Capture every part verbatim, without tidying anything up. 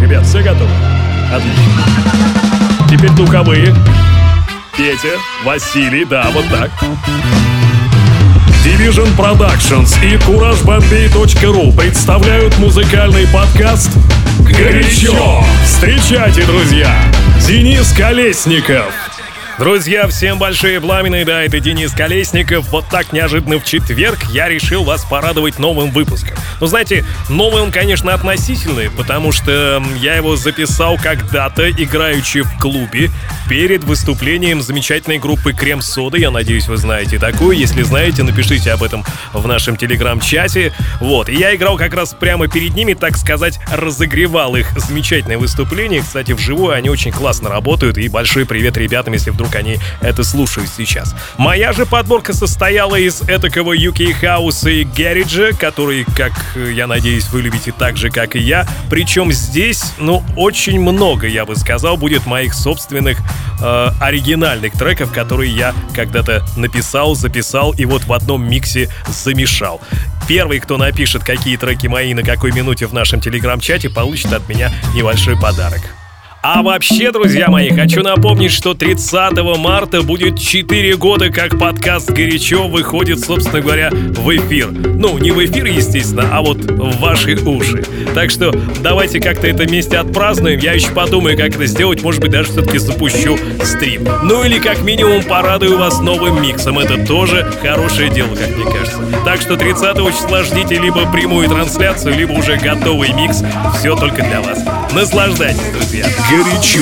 Ребят, все готовы? Отлично. Теперь духовые. Петя, Василий, да, вот так. Division Productions и кураж бомбей точка ру представляют музыкальный подкаст «Горячо». Встречайте, друзья, Денис Колесников. Друзья, всем большие пламенные, да, это Денис Колесников. Вот так неожиданно в четверг я решил вас порадовать новым выпуском. Ну, знаете, новый он, конечно, относительный, потому что я его записал когда-то, играючи в клубе, перед выступлением замечательной группы «Крем-сода». Я надеюсь, вы знаете такую. Если знаете, напишите об этом в нашем телеграм-чате. Вот, и я играл как раз прямо перед ними, так сказать, разогревал их замечательное выступление. Кстати, вживую они очень классно работают, и большой привет ребятам, если вдруг они это слушают сейчас. Моя же подборка состояла из этакого ю кей хауса и гэриджа, который, как я надеюсь, вы любите так же, как и я. Причем здесь, ну, очень много, я бы сказал, будет моих собственных э, оригинальных треков, которые я когда-то написал, записал и вот в одном миксе замешал. Первый, кто напишет, какие треки мои на какой минуте в нашем телеграм-чате, получит от меня небольшой подарок. А вообще, друзья мои, хочу напомнить, что тридцатого марта будет четыре года, как подкаст «Горячо» выходит, собственно говоря, в эфир. Ну, не в эфир, естественно, а вот в ваши уши. Так что давайте как-то это вместе отпразднуем. Я еще подумаю, как это сделать. Может быть, даже все-таки запущу стрим. Ну или как минимум порадую вас новым миксом. Это тоже хорошее дело, как мне кажется. Так что тридцатого числа ждите либо прямую трансляцию, либо уже готовый микс. Все только для вас. Наслаждайтесь, друзья. Горячо.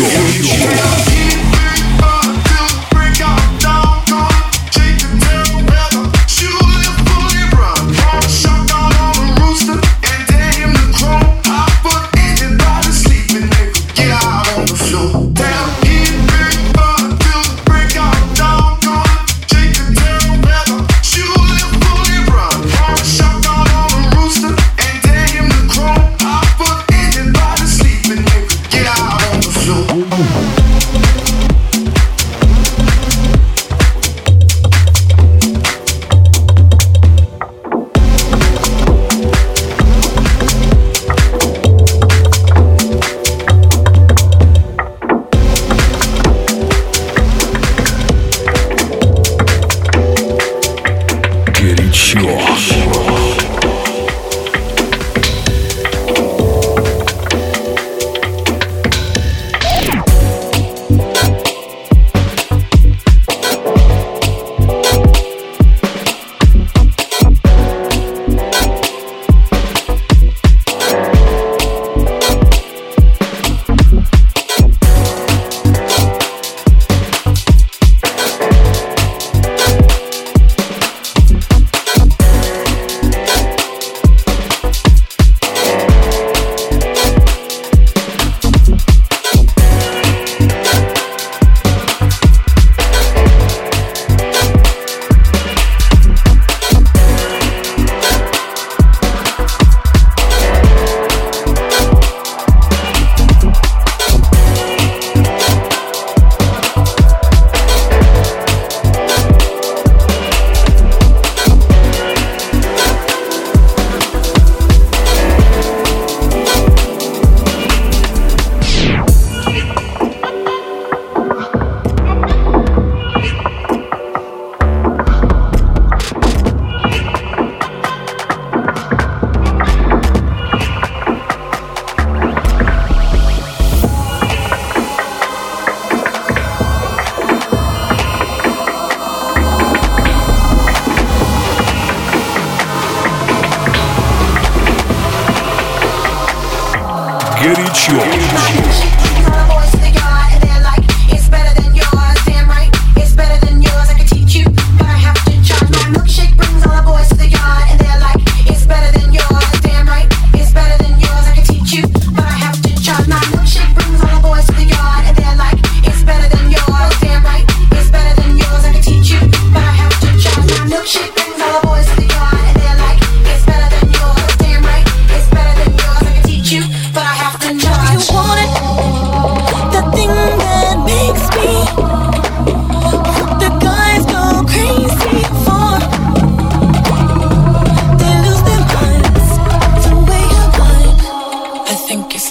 Горячо. But I have to try. You want it?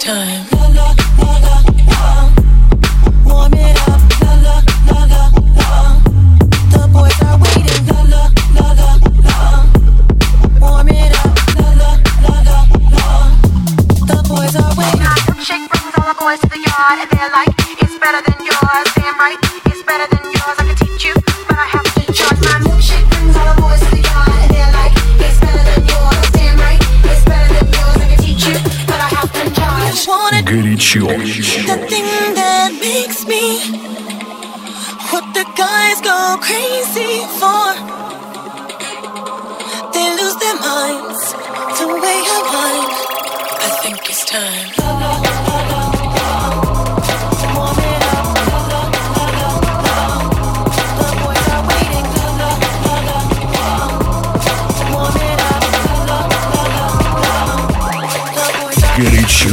time. La la la la la. Warm it up. La la la la la. The boys are waiting. La la la la la. Warm it up. La la la la la. The boys are waiting. My milkshake brings all the boys to the yard, and they're like, it's better than yours. Damn right, it's better than yours. I can teach you, but I have to charge. My milkshake brings all the boys to the yard, and they're like, it's better than yours. Damn right, it's better than yours. I can teach you, but I have to charge. Горячо. The thing that makes me what the guys go crazy for. They lose their minds the way I whine. I think it's time. La, la, la, la, la. Warm it up. La, la, la, la, la. The boys are waiting. La, la, la, la, la. Warm it up. La, la, la, la, la. The boys are Горячо.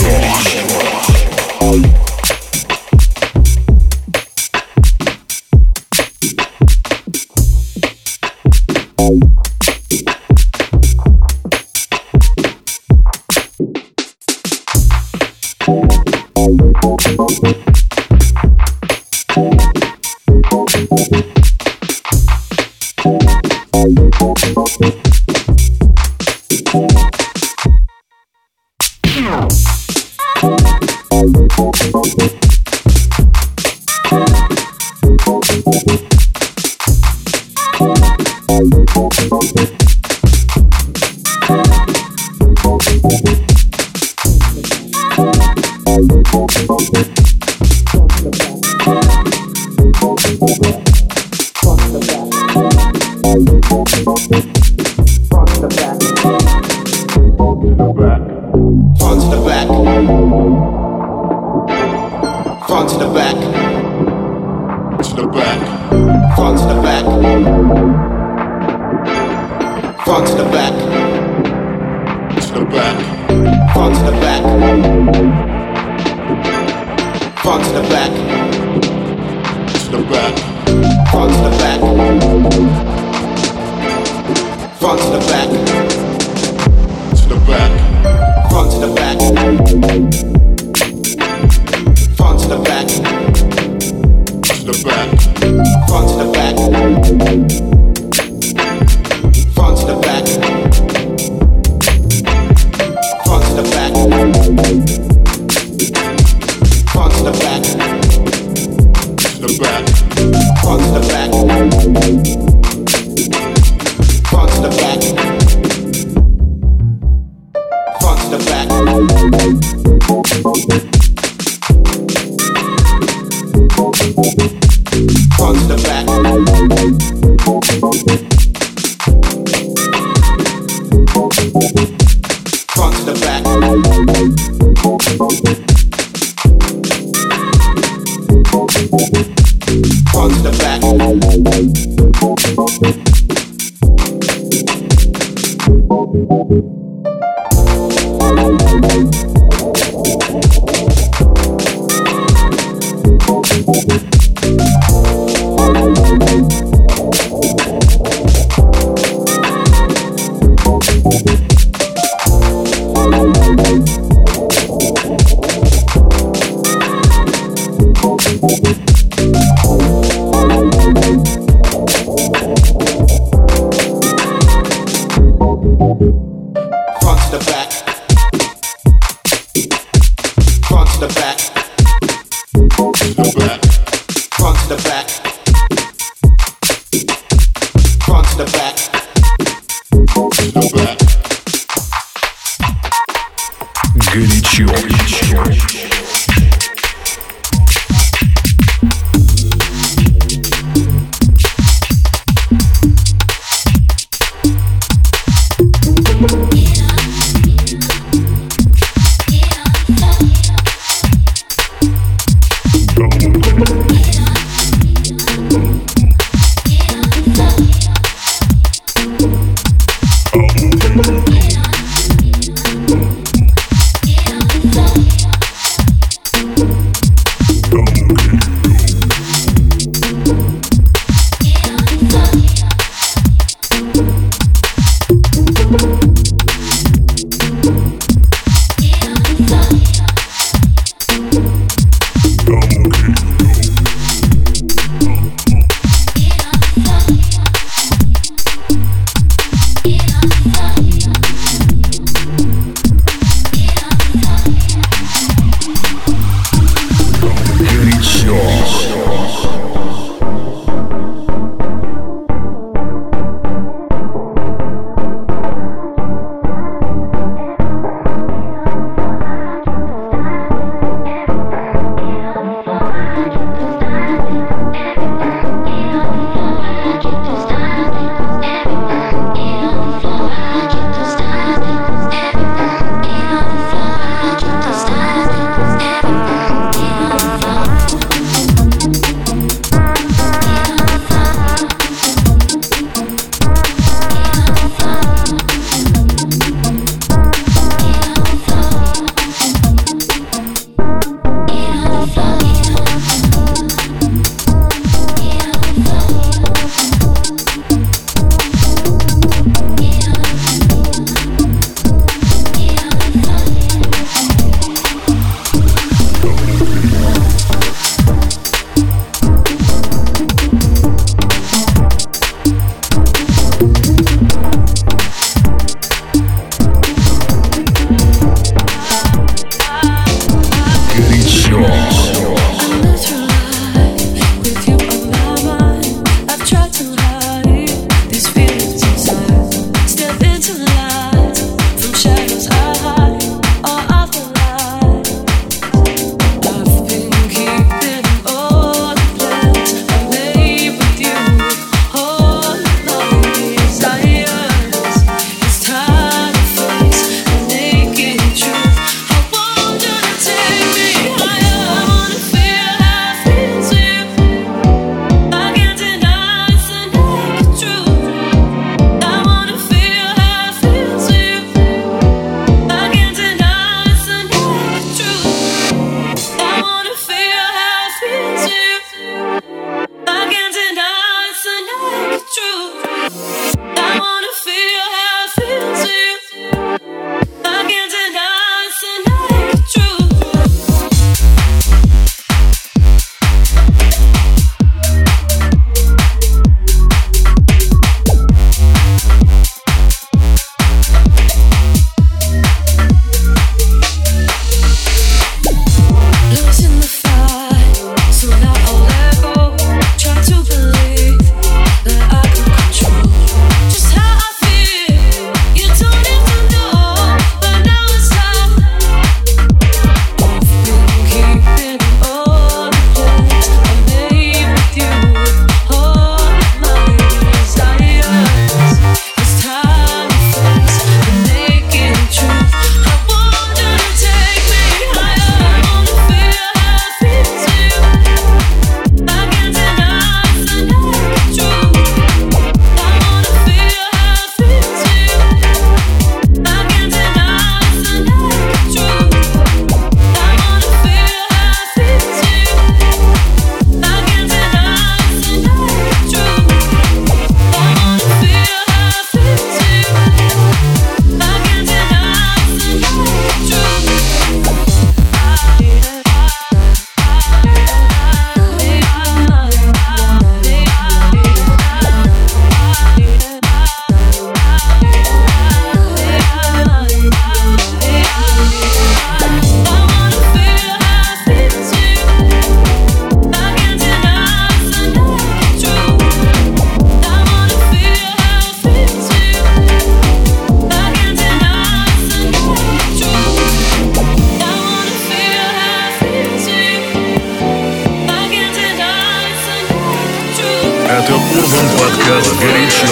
Урбан подкаст «Горячо».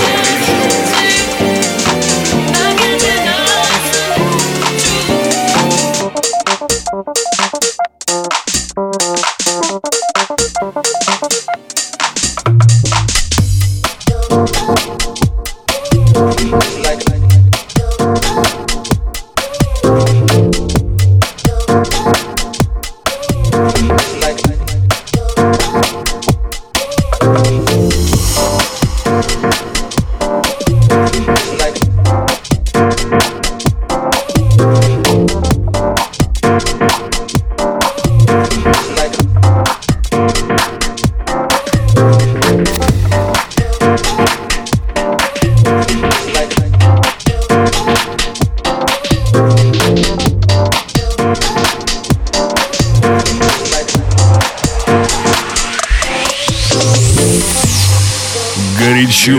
Горячо.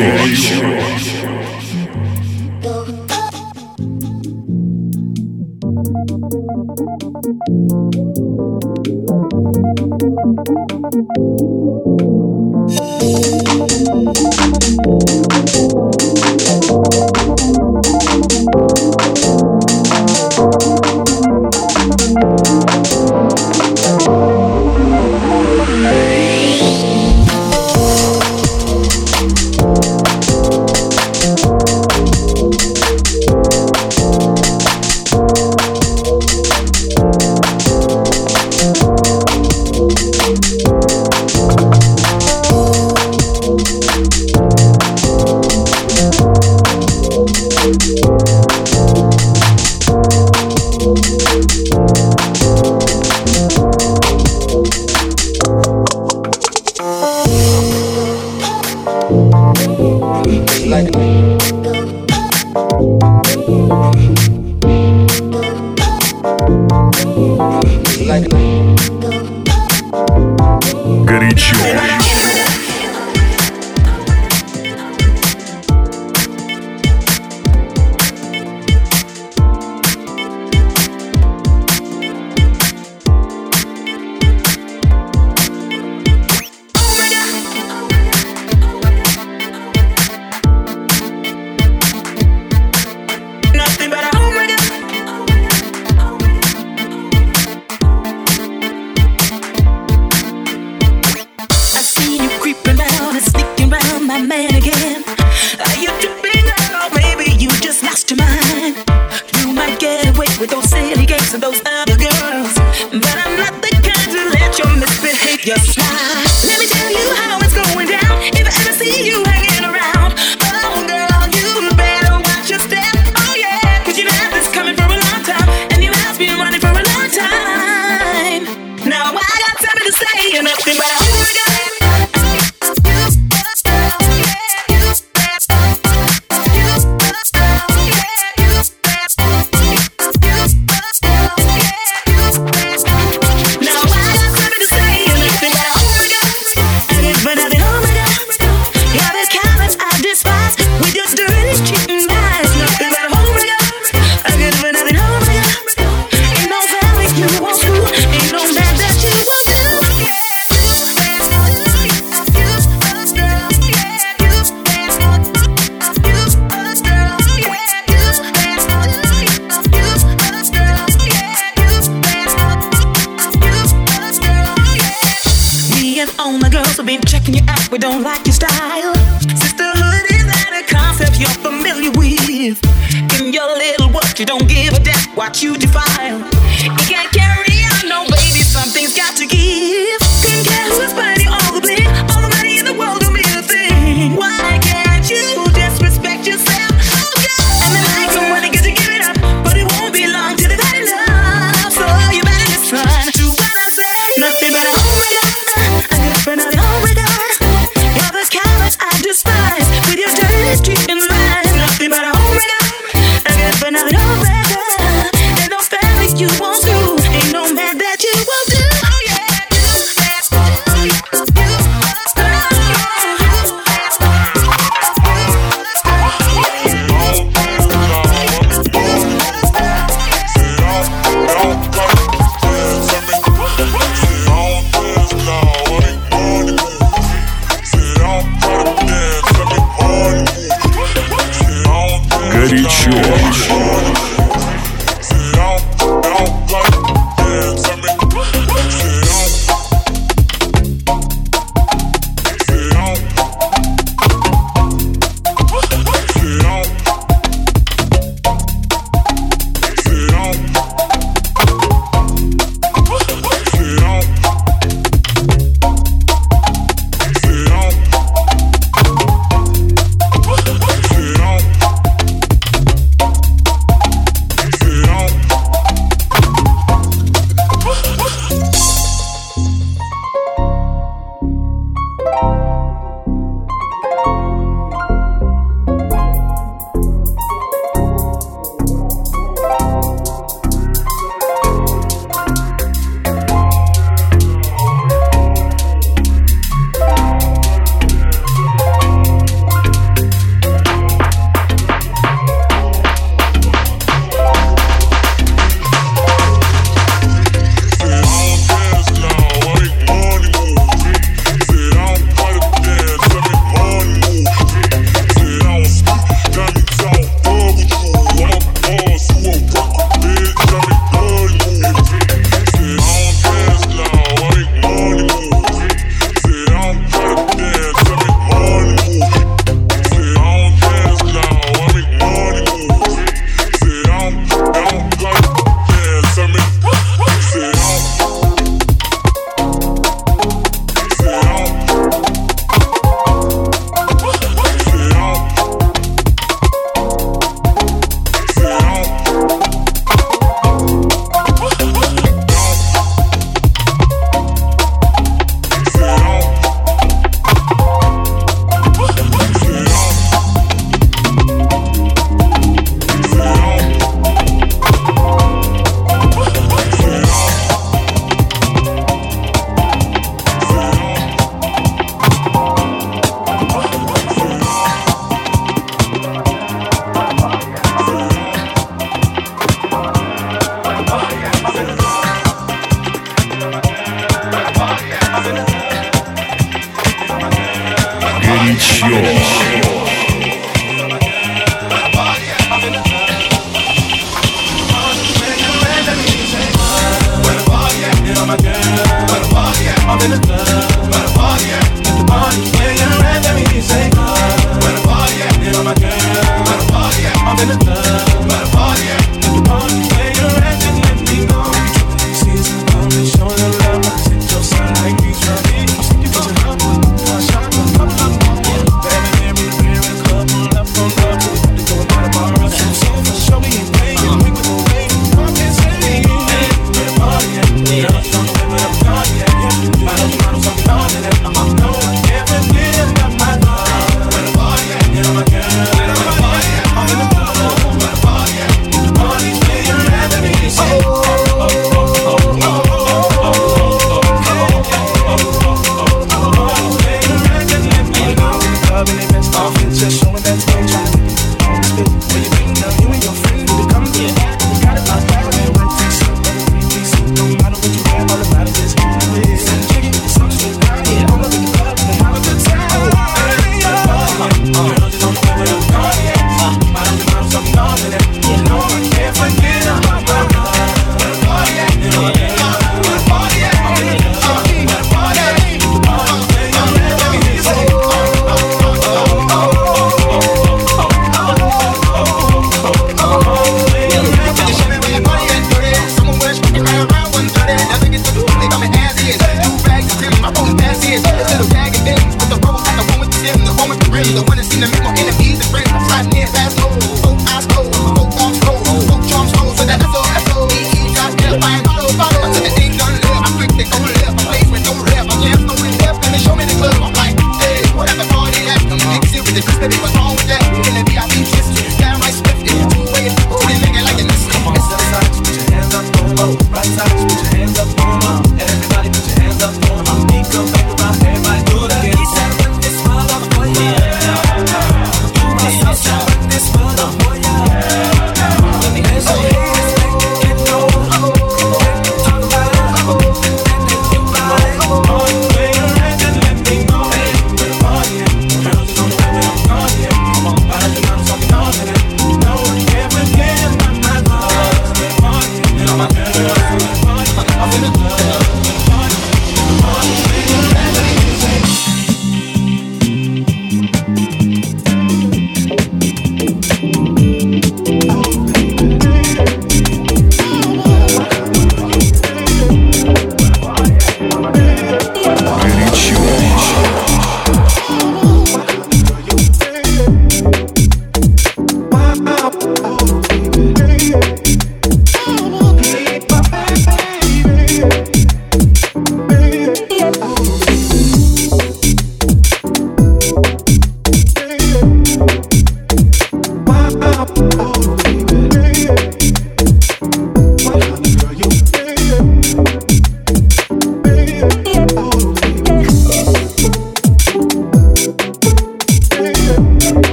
Горячо. You won't do, ain't no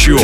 Горячо.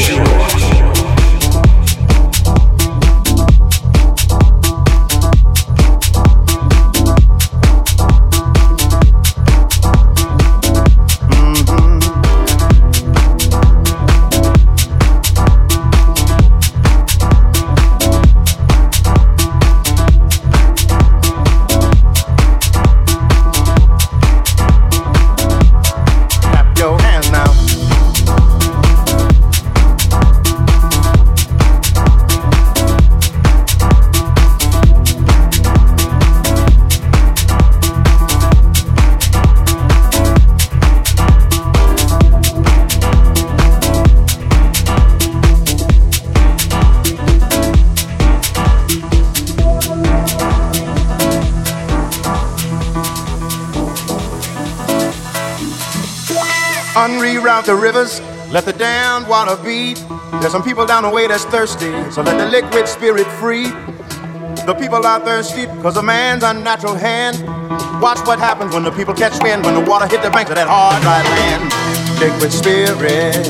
Unreroute the rivers, let the damned water beat. There's some people down the way that's thirsty, so let the liquid spirit free. The people are thirsty because of man's unnatural hand. Watch what happens when the people catch wind, when the water hit the banks of that hard, dry land. Liquid spirit,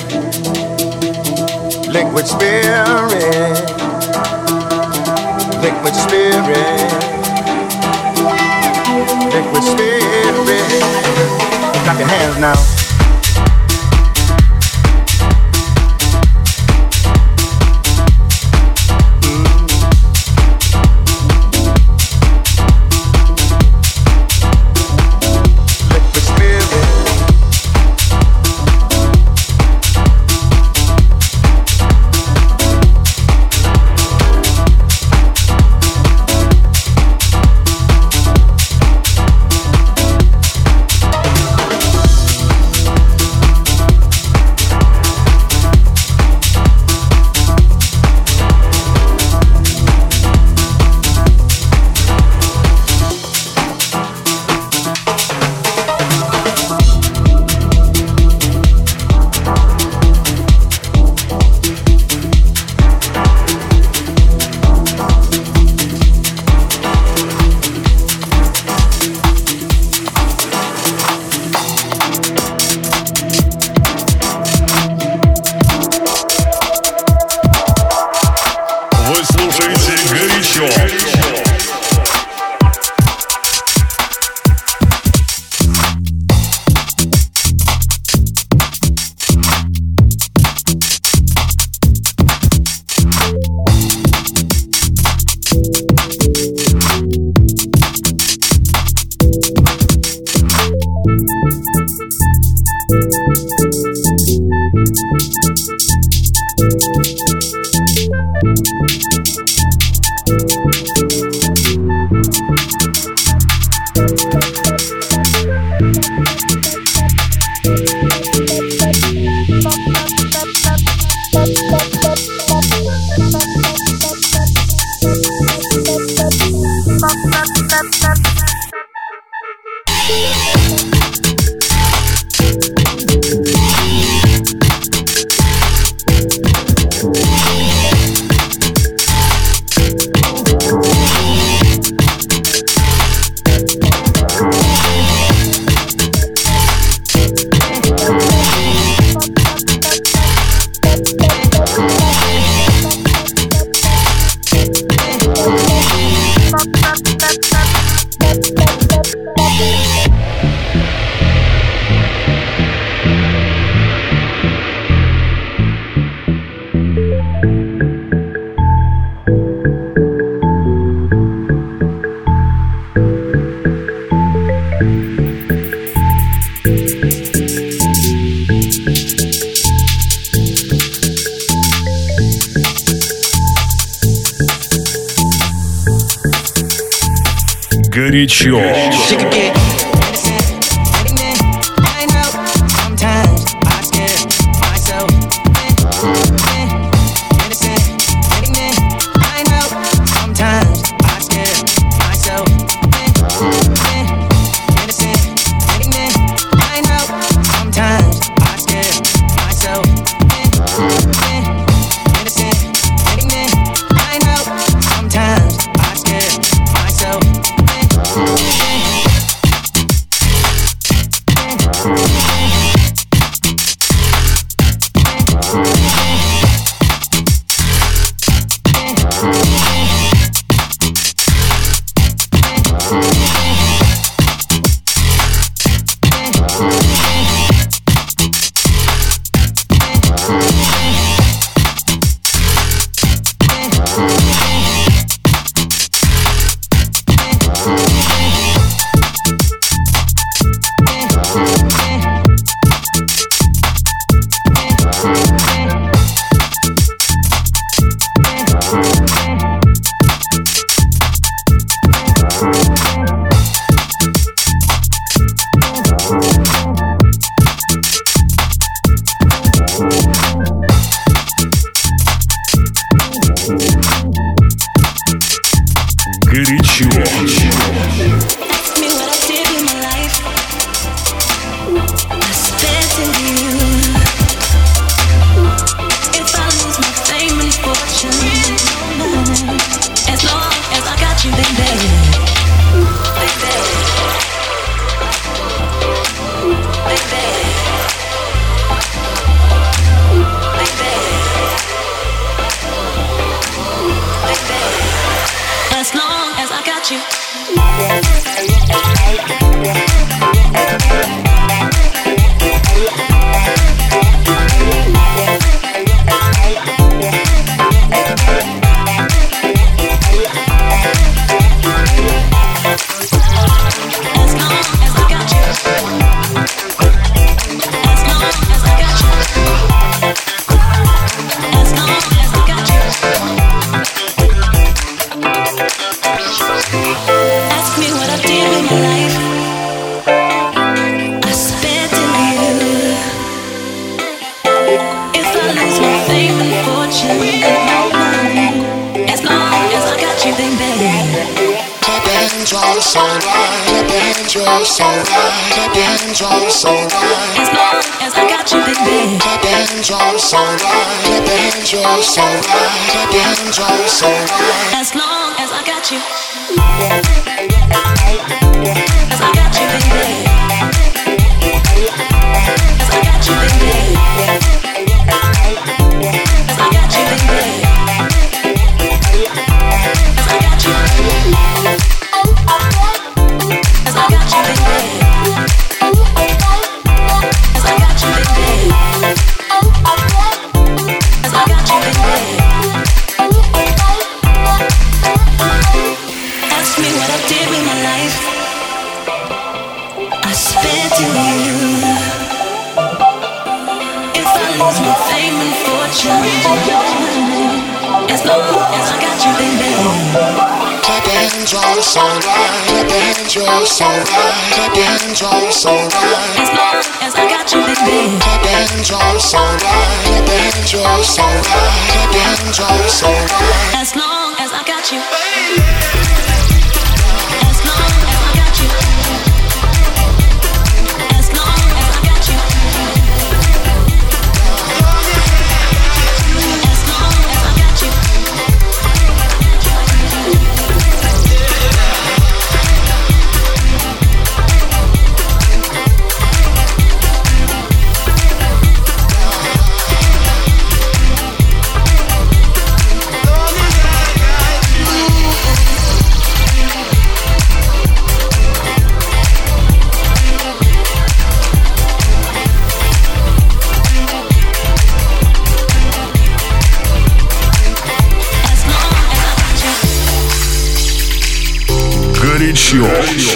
liquid spirit, liquid spirit, liquid spirit. Clap your hands now. Горячо. dangerous, alright. Get dangerous, alright. Get dangerous, alright. As long as I got you, baby. Get dangerous, alright. Get dangerous, alright. Get dangerous, alright. As long as I got you. As I got you, baby. As I got you, baby. As I got you, baby. As I got you. As I got you, baby. As I got you, baby. As I got you, baby. Ask me what I did with my life. I spent it on you. If I lose my fame and fortune, as long as I got you, baby. Get dangerous, alright. Get dangerous, alright. Get dangerous, alright. As long as I got you, baby. Get dangerous, alright. Get dangerous, alright. Get dangerous, alright. As long as I got you. As long as I got you. As long as I got you. As long as I got you. Горячо.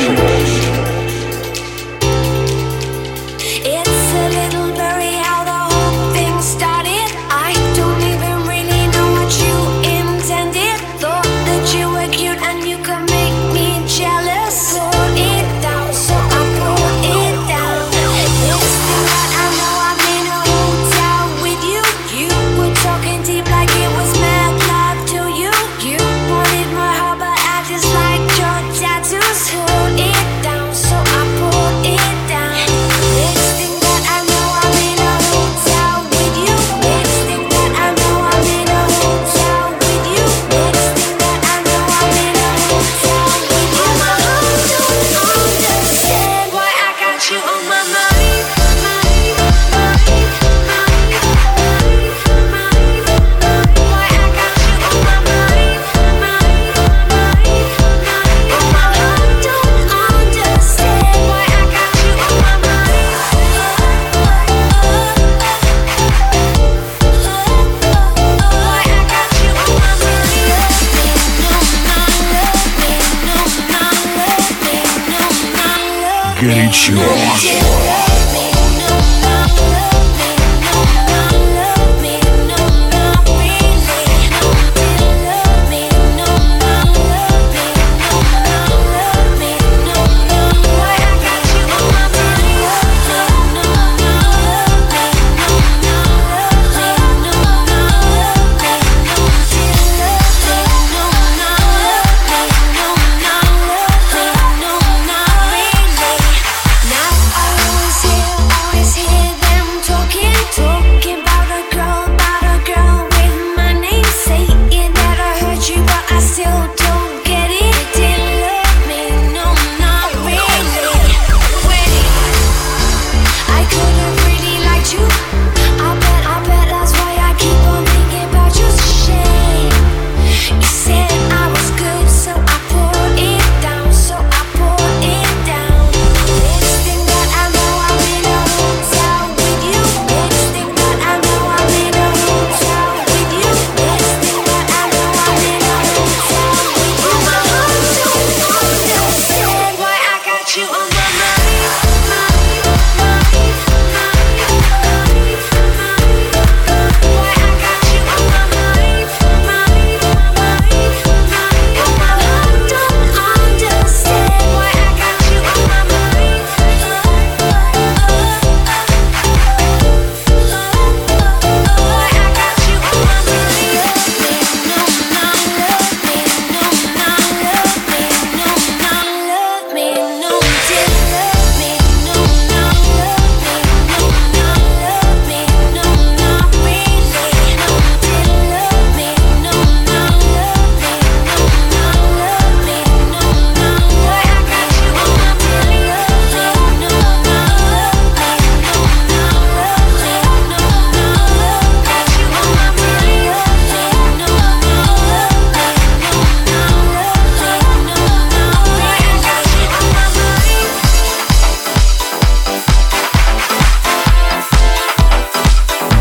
It's a little blurry how the whole thing started. I don't even really know what you intended. Thought that you were cute and you could make me jealous. Pull it down, so I pull it down. Next thing that I know, I'm in a hotel with you. You were talking deep like it was mad love to you. You wanted my heart, but I just liked your tattoos. Pull it down, so I pull it down. Next thing that I know, I'm in a hotel with you. Next thing that I know, I'm in a hotel with you. Next thing that I know, I'm in a hotel with you. My heart don't understand why I got you on my mind. Why I got you on my mind. Oh, my heart don't understand why I got you on my mind. Why I got you on my mind. Горячо. Now I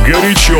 Горячо.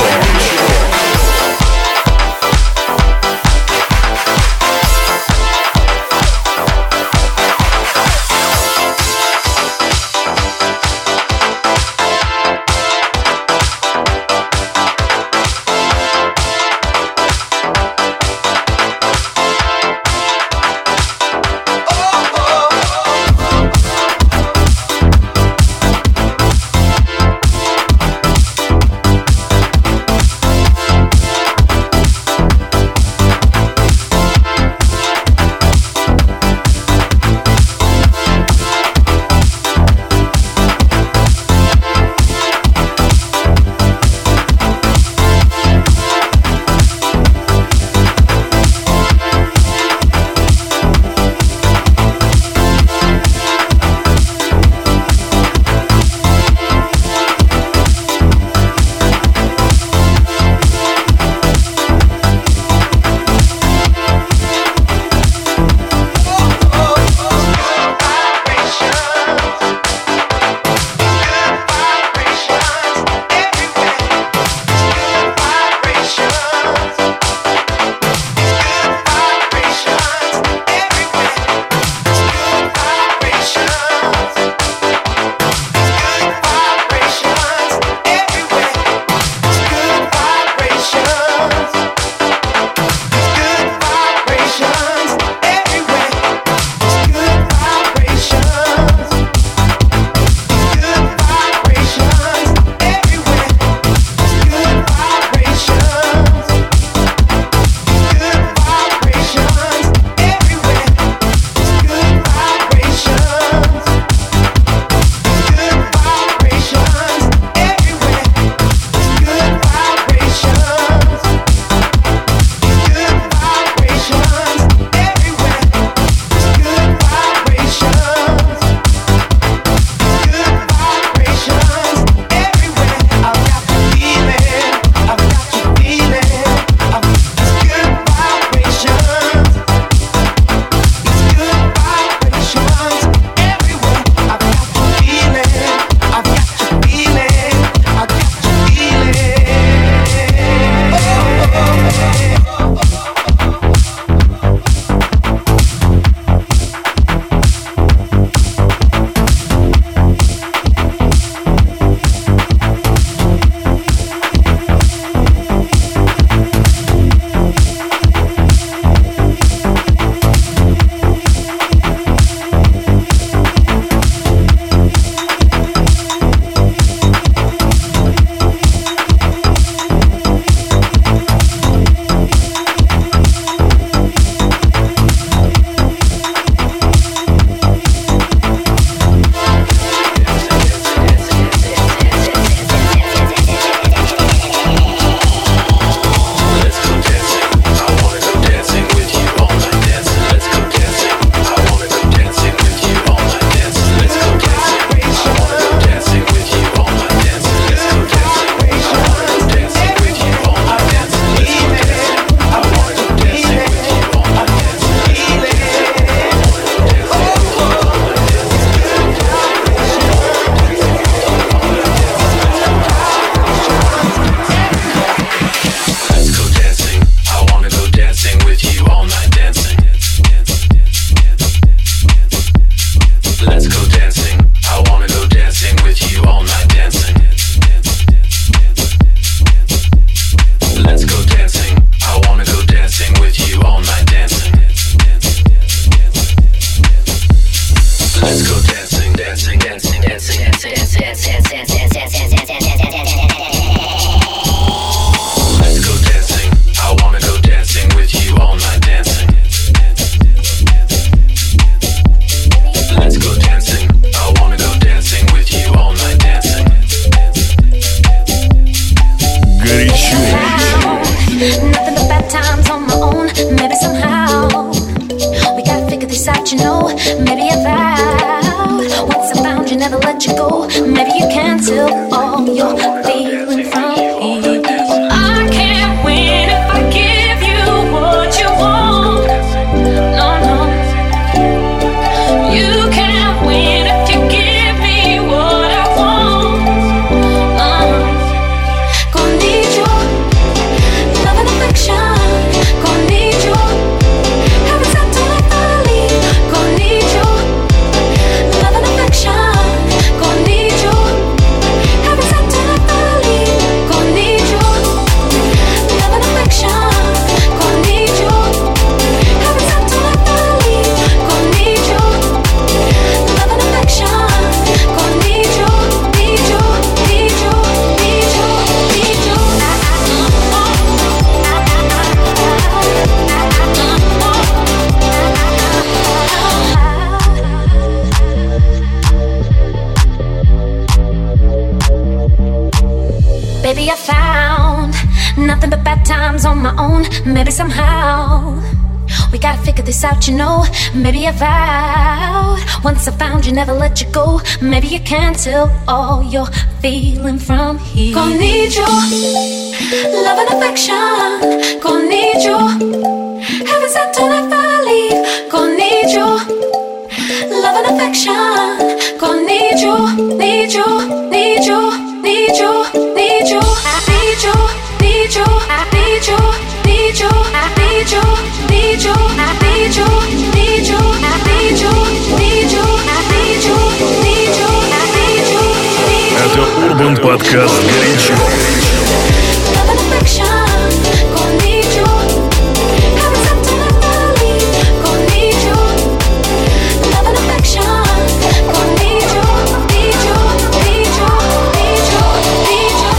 Baby, I found nothing but bad times on my own. Maybe somehow we gotta figure this out, you know. Maybe I vowed once I found you, never let you go. Maybe you can't tell all you're feeling from here. Gonna need you, love and affection. Gonna need you, heaven sent to never leave. Gonna need you, love and affection. Gonna need you, need you, need you, need you, need you. I need you, need you, I need you, need you, I need you, need you, I need you, need you, I need you, need you, I need you, need you, I need you, need you. Это Urban Podcast «Горячо». Love and affection, gonna need you. Heaven sent to never leave. Gonna need you. Love and affection, gonna need you, need you, need you, need you, need you.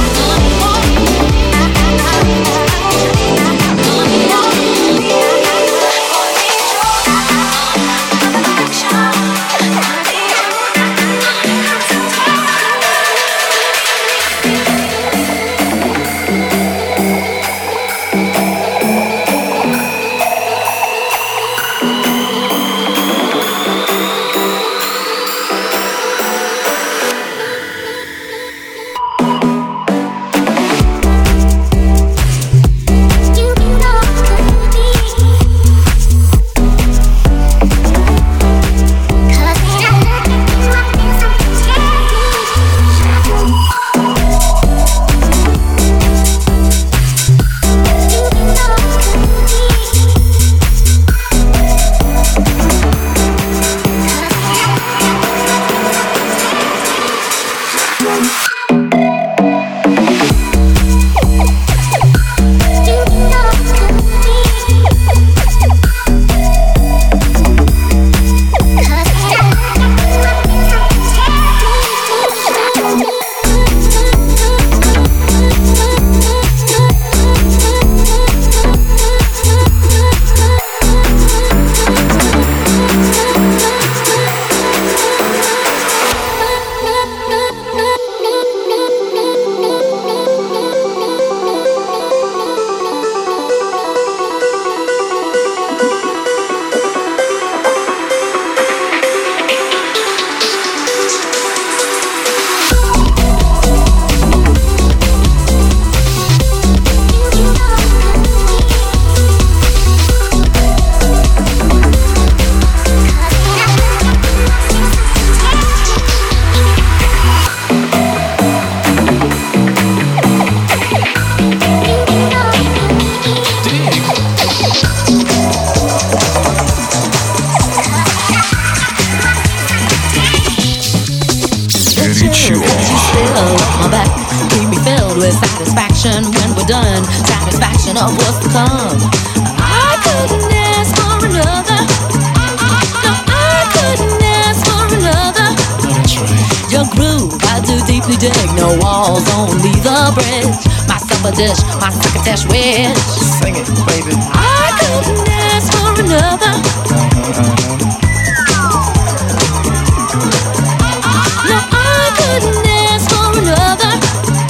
Of what's to come. I couldn't ask for another. No, I couldn't ask for another. That's right. Your groove, I do deeply dig. No walls, only the bridge. My supper dish, my crocketesh wish. Sing it, baby. I couldn't ask for another. No, I couldn't ask for another.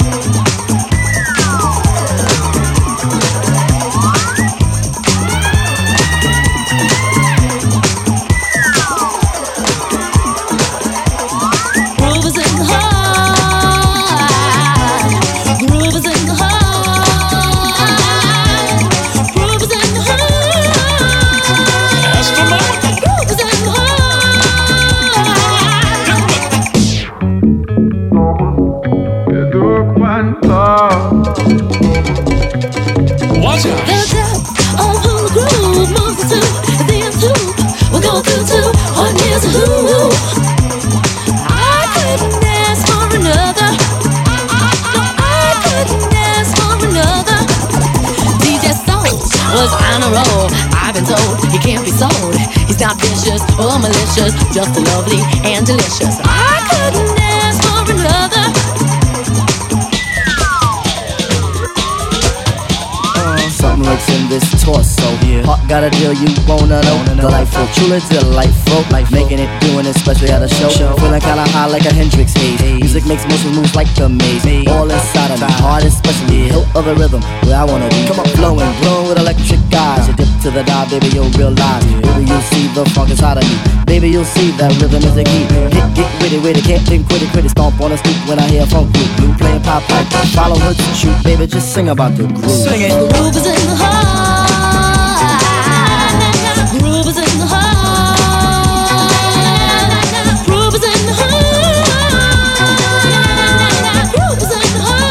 Not vicious or malicious, just lovely and delicious. I couldn't ask for another. Uh, something lurks in this torso here. heart got a deal you wanna know. Delightful, truly delightful. Making it, doing it, especially at a show. Feeling kinda high like a Hendrix haze. Music makes motion moves like a maze. All inside of me, heart especially. Hilt of the rhythm, where I wanna be. Come on, flowing, glowing with electric eyes. You dip to the dive, baby, you'll realize. Baby, you'll see the funk inside of me. Baby, you'll see that rhythm is the key. Get, get with it, with it, can't think, quit it, quit it. Stomp on the stoop when I hear funk group. Blue playing pop pipe, follow her to shoot. Baby, just sing about the groove. Sing it. The groove is in the heart. Groove is in the heart. Groove is in the heart. Groove is in the heart.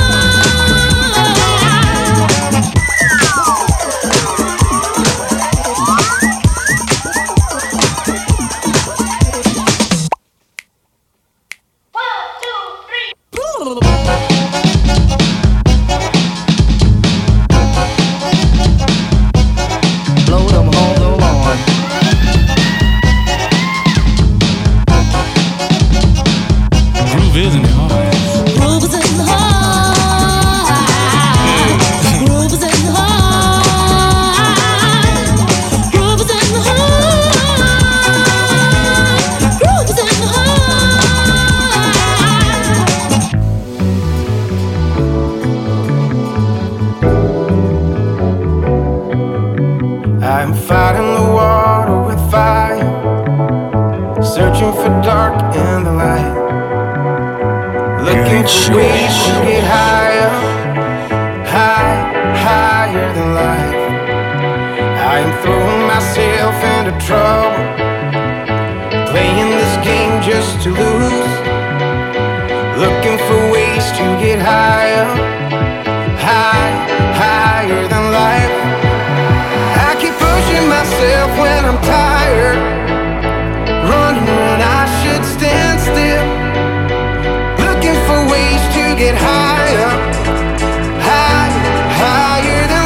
I'm fighting the water with fire, searching for dark in the light, looking for ways to get higher, high, higher than life. I am throwing myself into trouble, playing this game just to lose, looking for ways to get higher, high, higher than life. I keep pushing myself when I'm tired, running when I should stand still, looking for ways to get higher, high, higher than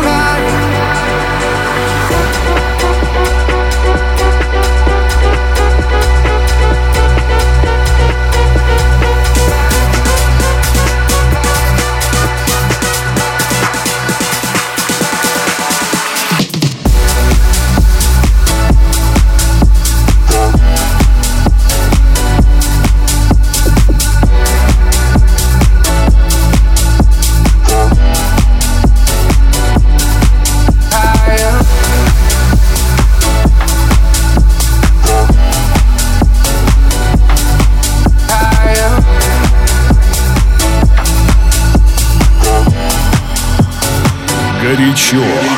Горячо.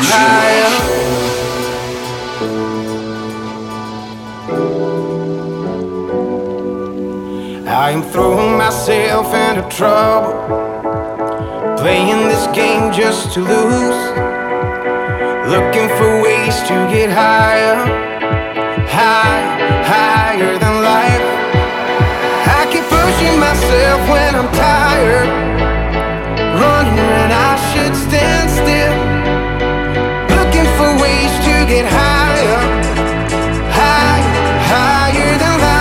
I'm throwing myself into trouble, playing this game just to lose, looking for ways to get higher, high, higher than life. I keep pushing myself when I'm tired, running when I should stand still, looking for ways to get higher, high, higher than life.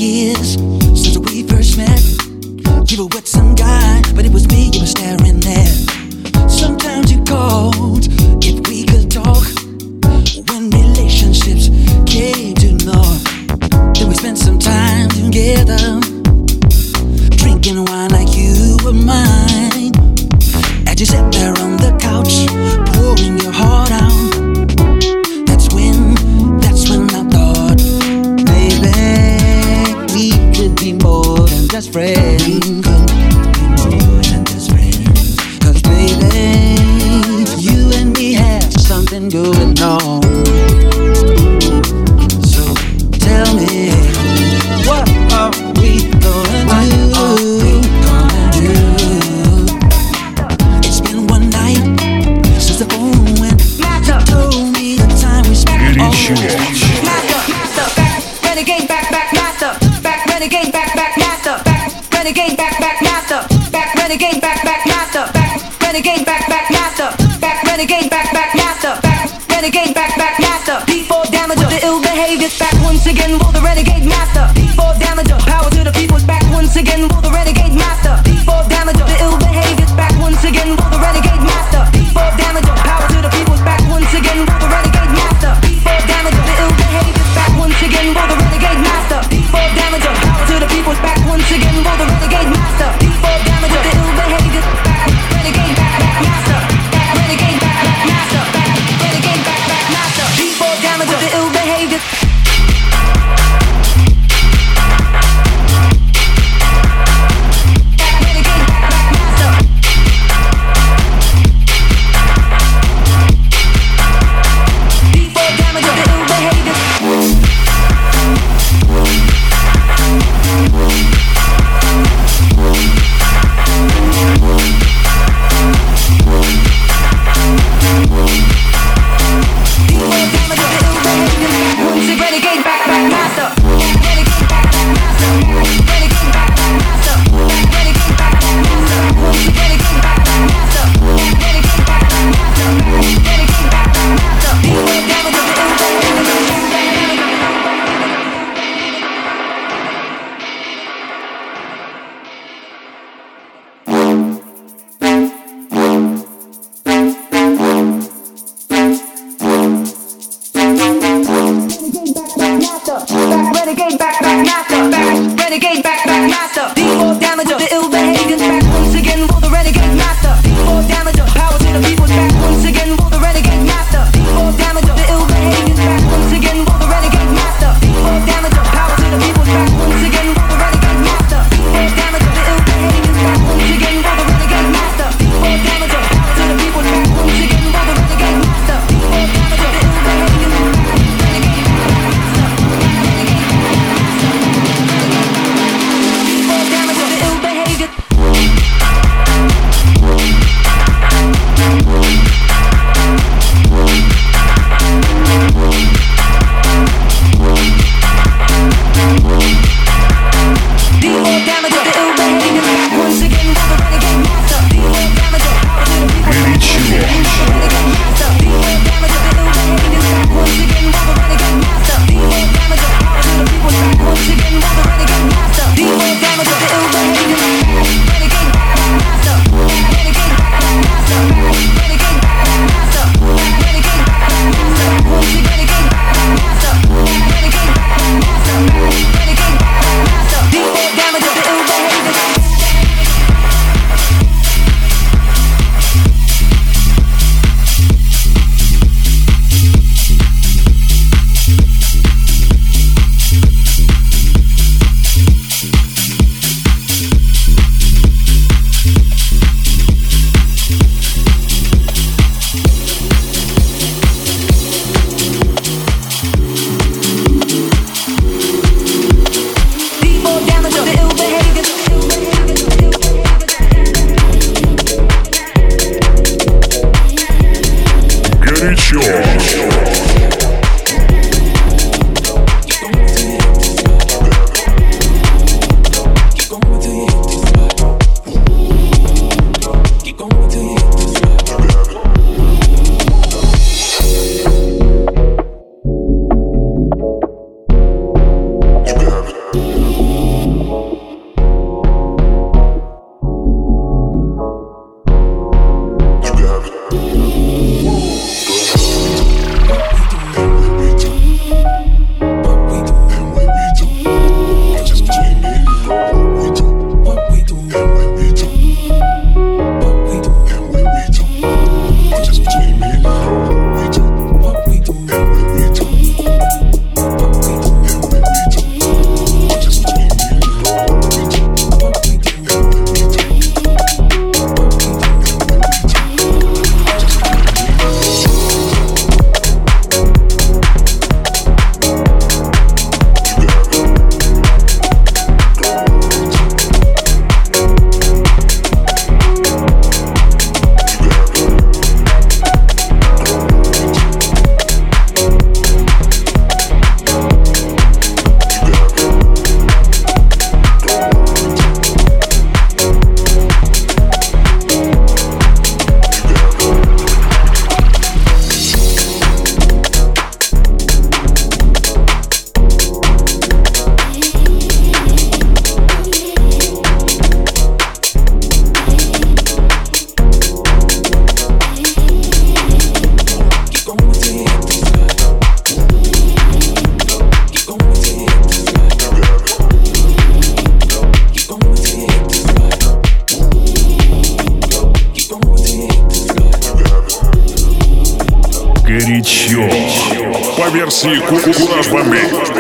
years since we first met. You were with some guy, but it was me you were staring at. Sometimes you called if we could talk. When relationships came to naught, then we spent some time together, drinking wine like you were mine. As you sat there on the couch, pouring your heart out, that's when, that's when I thought, baby, we could be more than just friends. We could be more than just friends. 'Cause baby, you and me have something going on. So tell me, what are we gonna do? It's been one night since the phone went. You told me the time we spent all renegade back, back, master, back, renegade back, back, master, back, renegade back, back, master, back, renegade back, back, master, back, renegade back, back, master, back, renegade back, back, master, back, renegade back, back, master. D four damager, the ill behaviors back once again. Will the renegade master? D four damager, power to the people's back once again. Will the renegade master? D four damager, the ill behaviors back once again. Will the renegade master? D four damager, power to the people's back once again. Will the renegade master? D four damager, the ill behaviors back once again. Will the renegade master? D four damager, power to the people's back once again. Will the renegade master? D four damager, the ill behaviors back, renegade back, back master, back, renegade back, back master, back, renegade back, back master. D four damager, the ill behaviors. версии Кураж Бомбей.